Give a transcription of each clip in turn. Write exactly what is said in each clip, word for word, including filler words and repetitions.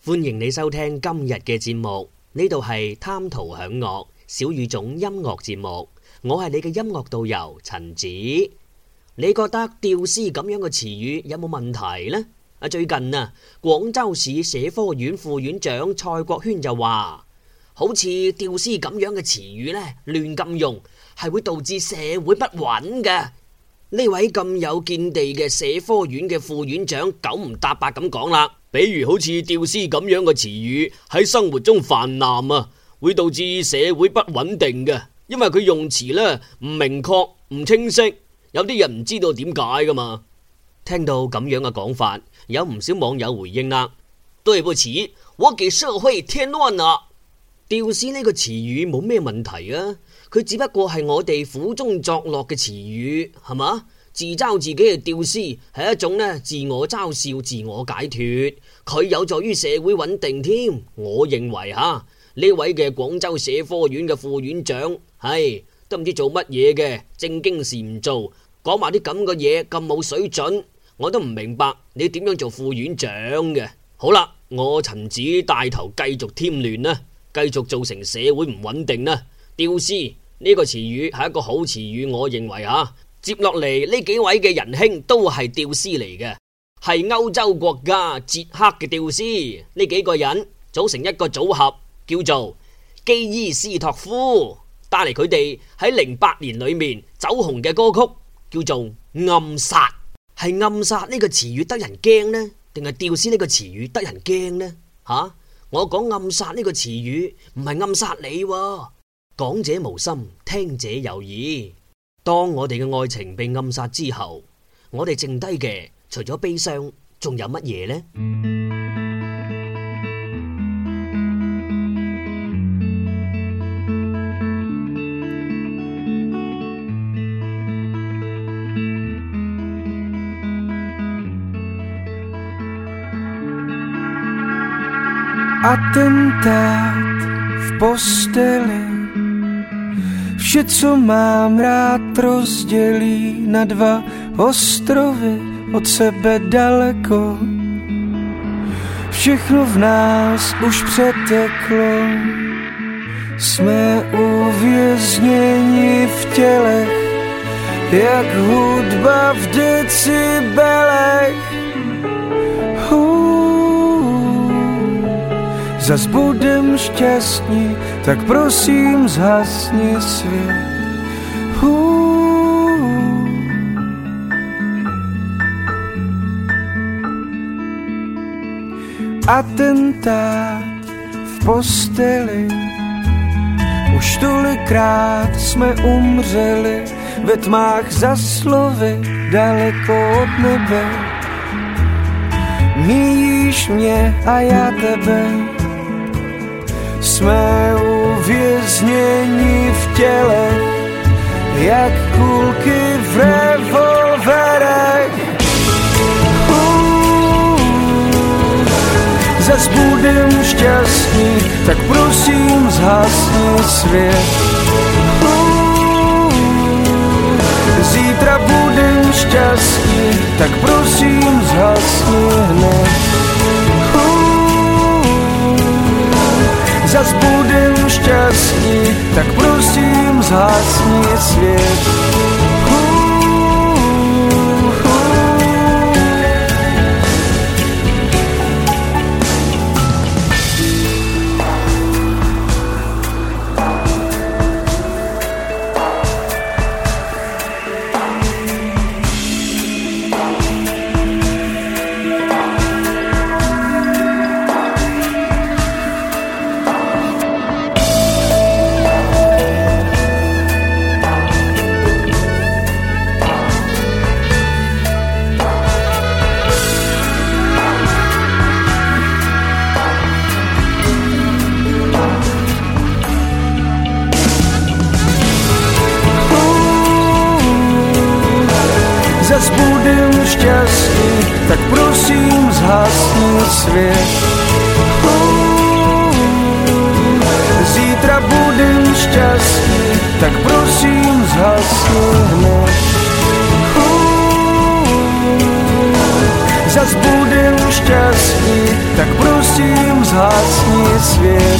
歡迎你收聽今日嘅節目，呢度係貪圖享樂小語種音樂節目，我係你嘅音樂導遊陳子。你覺得吊絲咁樣嘅詞語有冇問題呢？啊，最近啊，廣州市社科院副院長蔡國軒就話，好似吊絲咁樣嘅詞語呢，亂咁用係會導致社會不穩嘅。呢位咁有見地嘅社科院嘅副院長九唔搭八咁講啦，比如好似吊絲咁樣嘅詞語喺生活中泛濫啊，會導致社會不穩定嘅，因為佢用詞呢唔明確唔清晰，有啲人唔知道點解噶嘛。聽到咁樣嘅講法，有唔少網友回應啦，對不起，我給社會添亂啦。吊絲呢個詞語冇咩問題啊，佢只不過係我哋苦中作樂嘅詞語，係嘛？自嘲自己嘅吊絲係一種呢自我嘲笑、自我解脫，佢有助於社會穩定添。我認為吓呢位嘅廣州社科院嘅副院長係都唔知做乜嘢嘅，正經事唔做，講埋啲咁嘅嘢咁冇水準，我都唔明白你點樣做副院長嘅。好啦，我陳子帶頭繼續添亂啦，繼續造成社會唔穩定啦。吊絲呢個詞語係一個好詞語，我認為吓。接落嚟呢幾位嘅仁兄都係吊絲嚟嘅，係歐洲國家捷克嘅吊絲。呢幾個人組成一個組合，叫做基伊斯托夫，帶嚟佢哋喺零八年裏面走紅嘅歌曲，叫做暗殺。係暗殺呢個詞語得人驚呢，定係吊絲呢個詞語得人驚呢？吓、啊，我講暗殺呢個詞語唔係暗殺你喎，講者無心，聽者有意。當我哋嘅愛情被暗殺之後，我哋剩低嘅除咗悲傷，仲有乜嘢呢 ？Atentát v posteli, vše, co mám rád, rozdělí na dva ostrovy od sebe daleko. Všechno v nás už přeteklo, jsme uvězněni v tělech, jak hudba v decibelech. Zas budem šťastní, tak prosím zhasni svět. Hů. Atentát v posteli, už tolikrát jsme umřeli ve tmách za slovy daleko od nebe. Míjíš mě a já tebe, jsme uvězněni v těle, jak kulky v revolverech. Uh, zas budem šťastní, tak prosím zhasni svět. Uh, zítra budem šťastní, tak prosím zhasni hned. Zas budem šťastní, tak prosím zhasni svět. Zas budem šťastný, tak prosím zhasni svět. Zítra budem šťastný, tak prosím zhasni hned. nás budem šťastní, tak prosím zhasni svět.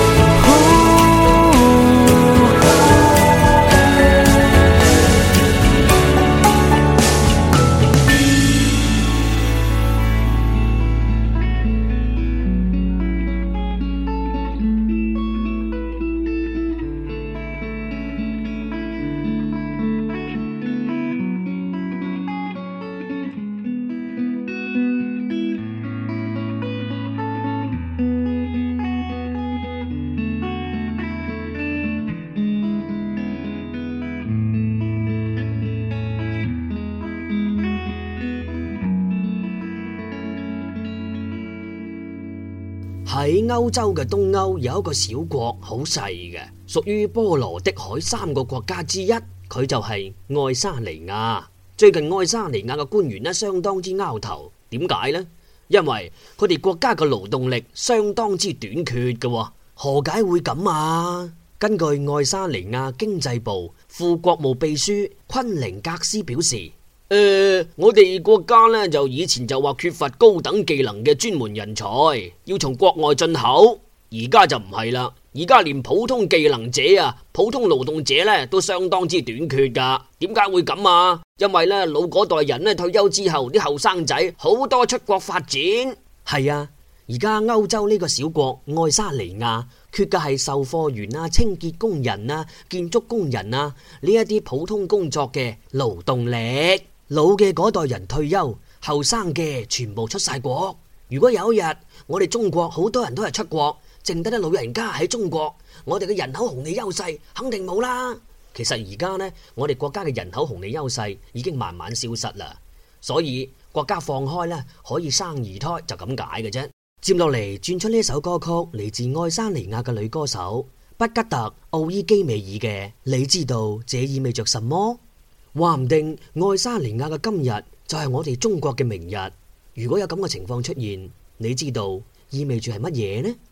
喺歐洲嘅東歐有一個小國，好細嘅，屬於波羅的海三個國家之一，佢就係愛沙尼亞。最近愛沙尼亞嘅官員呢，相當之拗頭，點解呢？因為佢哋國家嘅勞動力相當之短缺嘅，何解會咁啊？根據愛沙尼亞經濟部副國務秘書昆寧格斯表示，誒、呃，我哋國家呢，就以前就話缺乏高等技能嘅專門人才，要從國外進口，而家就唔係啦，而家連普通技能者啊、普通勞動者呢，都相當之短缺噶。點解會咁啊？因為呢，老嗰代人呢，退休之後，啲後生仔好多出國發展。係啊，而家歐洲呢個小國愛沙尼亞缺嘅係售貨員啊、清潔工人啊、建築工人啊呢一啲普通工作嘅勞動力。老嘅嗰代人退休，後生嘅全部出晒國。如果有一日我哋中國好多人都係出國，剩低啲老人家喺中國，我哋嘅人口紅利優勢肯定冇啦。其實而家呢，我哋國家嘅人口紅利優勢已經慢慢消失啦，所以國家放開呢，可以生二胎就咁解嘅啫。接落嚟轉出呢首歌曲，嚟自愛沙尼亞嘅女歌手畢吉特奧伊基美爾嘅，你知道這意味着什麼？話唔定愛沙尼亞嘅今日就係我哋中國嘅明日。如果有咁嘅情況出現，你知道意味住係乜嘢呢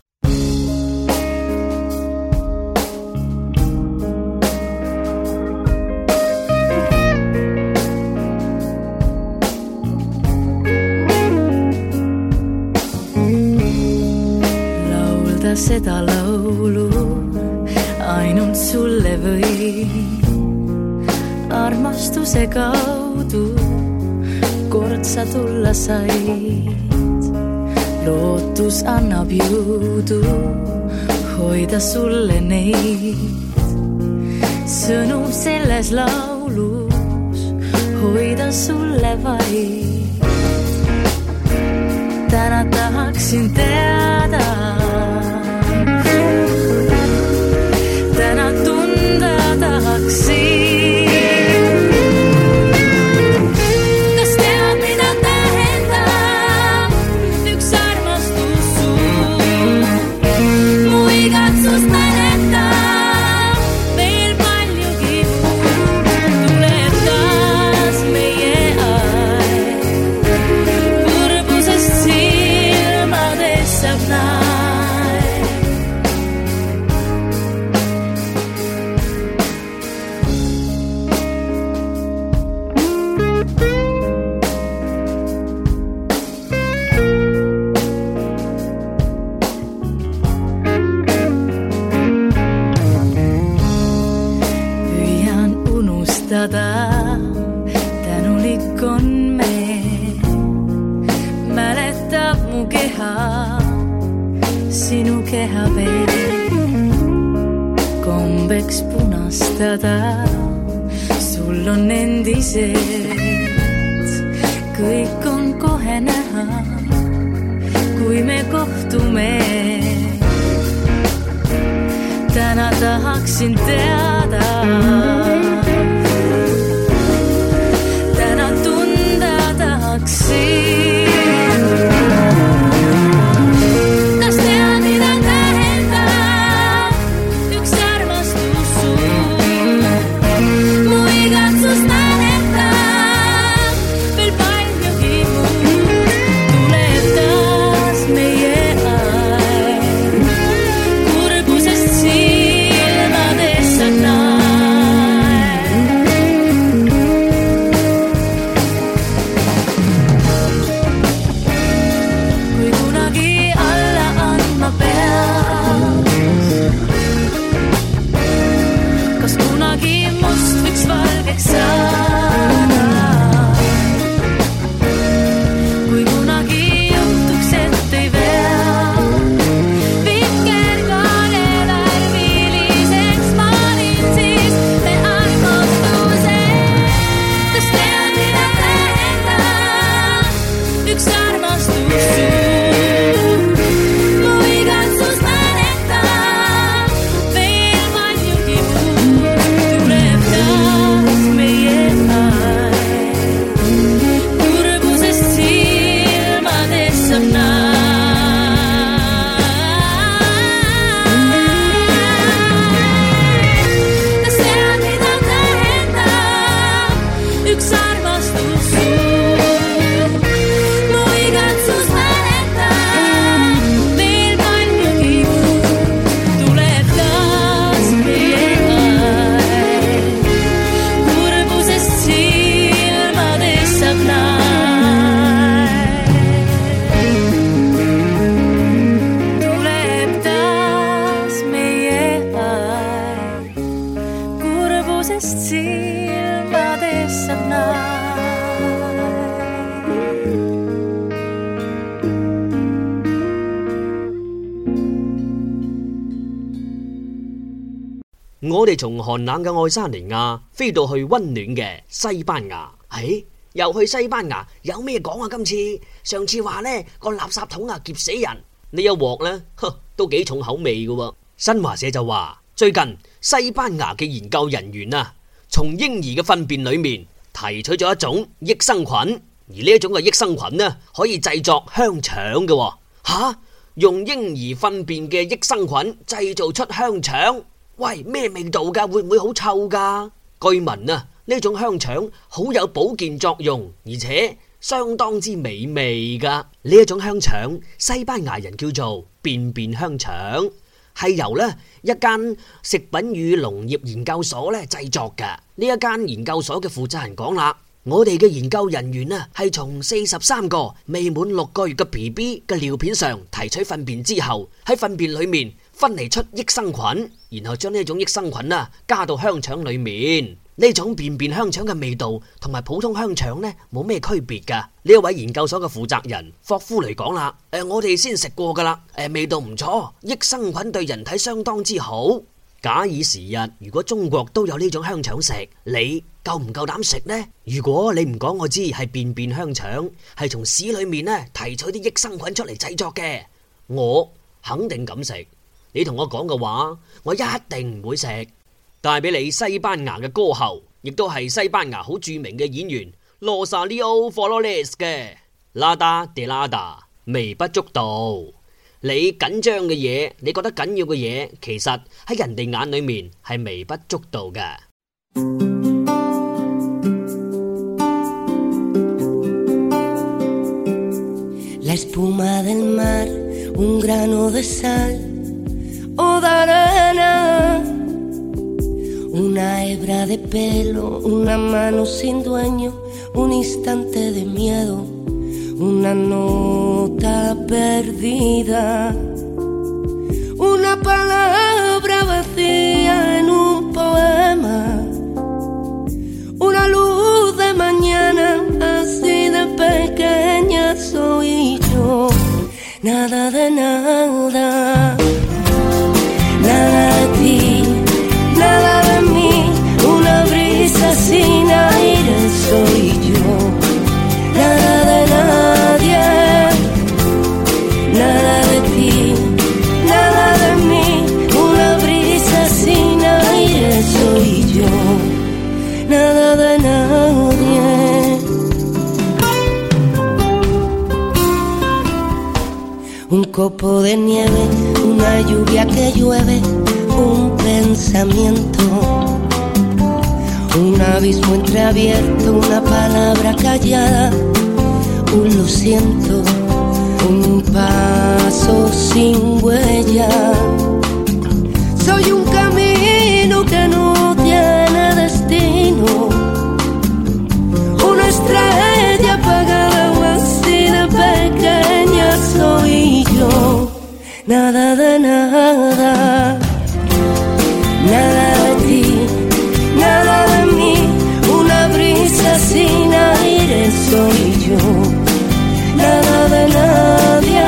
？Laulda seda laulu ainult sulle või armastuse kaudu kord sa tulla said. Lootus annab jõudu hoida sulle neid sõnu selles laulus, hoida sulle vaid. Täna tahaksin teada, täna tunda tahaksin. Tänulik on me, mäletab mu keha, sinu keha veel. Kombeks punastada, sul on endiselt. Kõik on kohe näha, kui me kohtume. Täna tahaksin teada, kas tead, mida tähendab üks armastus sul? Mu igatsus mäletab veel paljugi muud. Tuleb taas meie aeg, kurbusest silmades sa näed. 我哋從寒冷嘅愛沙尼亞飛到去溫暖嘅西班牙。誒，又去西班牙，有咩講啊？今次上次話呢個垃圾桶啊，夾死人，呢一鑊呢，呵，都幾重口味㗎喎。新華社就話，最近西班牙嘅研究人員啊，從嬰兒嘅糞便裏面提取咗一種益生菌，而呢一種嘅益生菌呢，可以製作香腸嘅喎。吓，用嬰兒糞便嘅益生菌製造出香腸，喂，咩味道噶？會唔會好臭噶？據聞啊，呢種香腸好有保健作用，而且相當之美味噶。呢一種香腸，西班牙人叫做便便香腸，係由呢一間食品與農業研究所呢製作嘅。呢一間研究所嘅負責人講啦，我哋嘅研究人員啊，係從四十三個未滿六個月嘅 B B 嘅尿片上提取糞便之後，喺糞便裏面分離出益生菌，然後將呢種益生菌啊加到香腸裏面。呢種便便香腸嘅味道同埋普通香腸呢冇咩區別噶。呢一位研究所嘅負責人霍夫雷講啦，誒、呃，我哋先食過噶啦，誒、呃，味道唔錯，益生菌對人體相當之好。假以時日，如果中國都有呢種香腸食，你夠唔夠膽食呢？如果你唔講我知係便便香腸，係從屎裏面呢提取啲益生菌出嚟製作嘅，我肯定敢食。你同我講嘅話，我一定唔會食。帶俾你西班牙嘅歌后，亦都係西班牙好著名嘅演員羅薩利奧·弗洛雷斯嘅拉達迪拉達，微不足道。你緊張嘅嘢，你覺得緊要嘅嘢，其實喺人哋眼裏面係微不足道嘅。 La espuma del mar, un grano de sal o de arena, una hebra de pelo, una mano sin dueño, un instante de miedo, una nota perdida, una palabra vacía en un poema, una luz de mañana, así de pequeña soy yo. Nada de nada, nada de ti, nada de mí, una brisa sin aire soy yo. Nada de nadie, nada de ti, nada de mí, una brisa sin aire soy yo. Nada de nadie. Un copo de nieve, una lluvia que llueve, un pensamiento, un abismo entreabierto, una palabra callada, un lo siento, un paso sin huella. Soy un camino que no tiene destino, una estrella apagada, así de pequeña soy yo. Nada de nada, nada de ti, nada de mí, una brisa sin aire soy yo. Nada de nadie,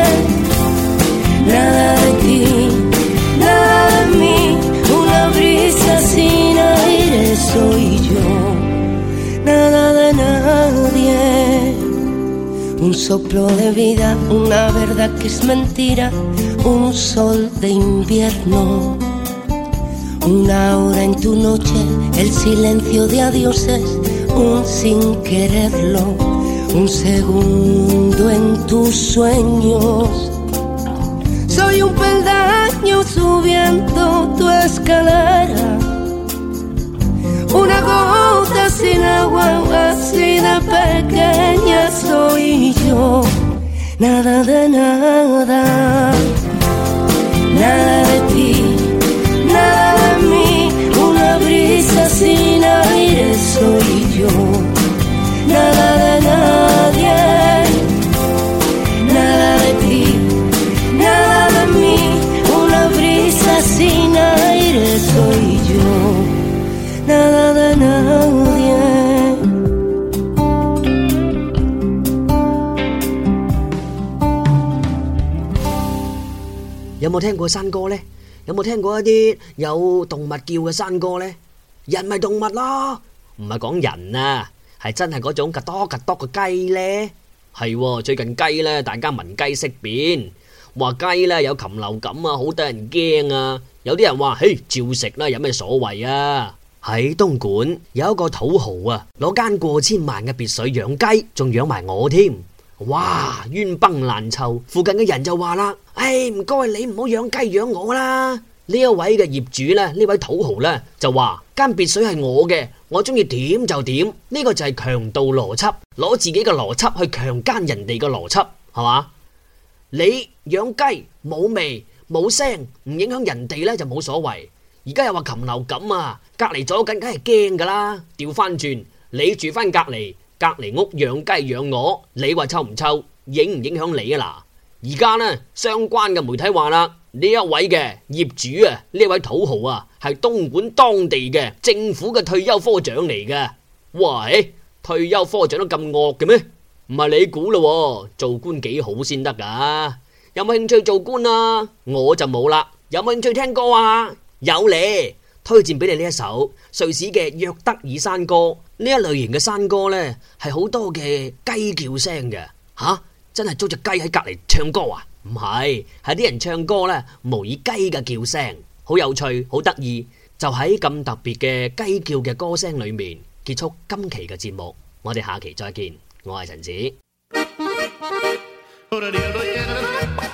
nada de ti, nada de mí, una brisa sin aire soy yo. Nada de nadie. Un soplo de vida, una verdad que es mentira, un sol de invierno, una hora en tu noche, el silencio de adioses, un sin quererlo, un segundo en tus sueños. Soy un peldaño subiendo tu escalera, una gota sin agua, así de pequeña soy yo. Nada de nada, nada de ti, nada de mí, una brisa sin aire soy yo. Nada de nadie, nada de ti, nada de mí, una brisa sin aire soy yo. Nada de nadie. 有冇聽過山歌呢？ 有冇聽過一啲有動物叫嘅山歌呢？人咪動物咯，唔係講人啊，係真係嗰種格多格多嘅雞呢。係喎，最近雞呢，大家聞雞色變，話雞呢有禽流感啊，好得人驚啊。有啲人話，嘿，照食啦，有咩所謂啊？喺東莞有一個土豪啊，攞間過千萬嘅別墅養雞，仲養埋我添。哇，冤崩爛臭，附近嘅人就話啦，唉，唔該你唔好養雞養我啦。呢一位嘅業主呢，呢位土豪呢，就話間別墅係我嘅，我中意點就點。呢個就係強盜邏輯，攞自己嘅邏輯去強姦人哋嘅邏輯，係嘛？你養雞冇味冇聲，唔影響人哋呢就冇所謂。而家又話禽流感啊，隔籬左近梗係驚噶啦。調翻轉，你住翻隔籬。隔籬屋養雞養鵝，你話臭唔臭？影唔影響你啊？嗱，而家呢，相關嘅媒體話啦，呢一位嘅業主啊，呢位土豪啊，係東莞當地嘅政府嘅退休科長嚟嘅。喂，退休科長都咁惡嘅咩？唔係你估咯，做官幾好先得噶。有冇興趣做官啊？我就冇啦。有冇興趣聽歌啊？有咧。推薦俾你呢一首瑞士嘅約德爾山歌。呢一類型嘅山歌呢，係好多嘅雞叫聲嘅。吓，真係租隻雞喺隔籬唱歌啊？唔係，係啲人唱歌呢，模擬雞嘅叫聲，好有趣，好得意。就喺咁特別嘅雞叫嘅歌聲裏面結束今期嘅節目。我哋下期再見，我係陳子。